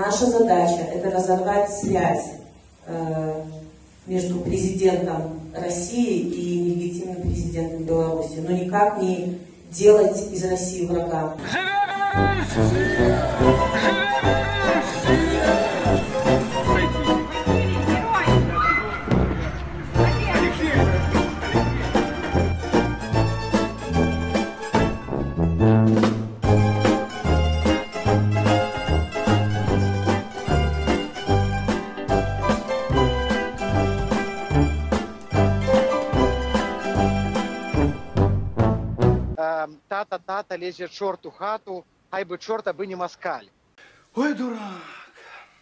Наша задача – это разорвать связь между президентом России и нелегитимным президентом Беларуси, но никак не делать из России врага. Тата лезет чорт у хату, хай бы чорт, аби не москаль. Ой, дурак!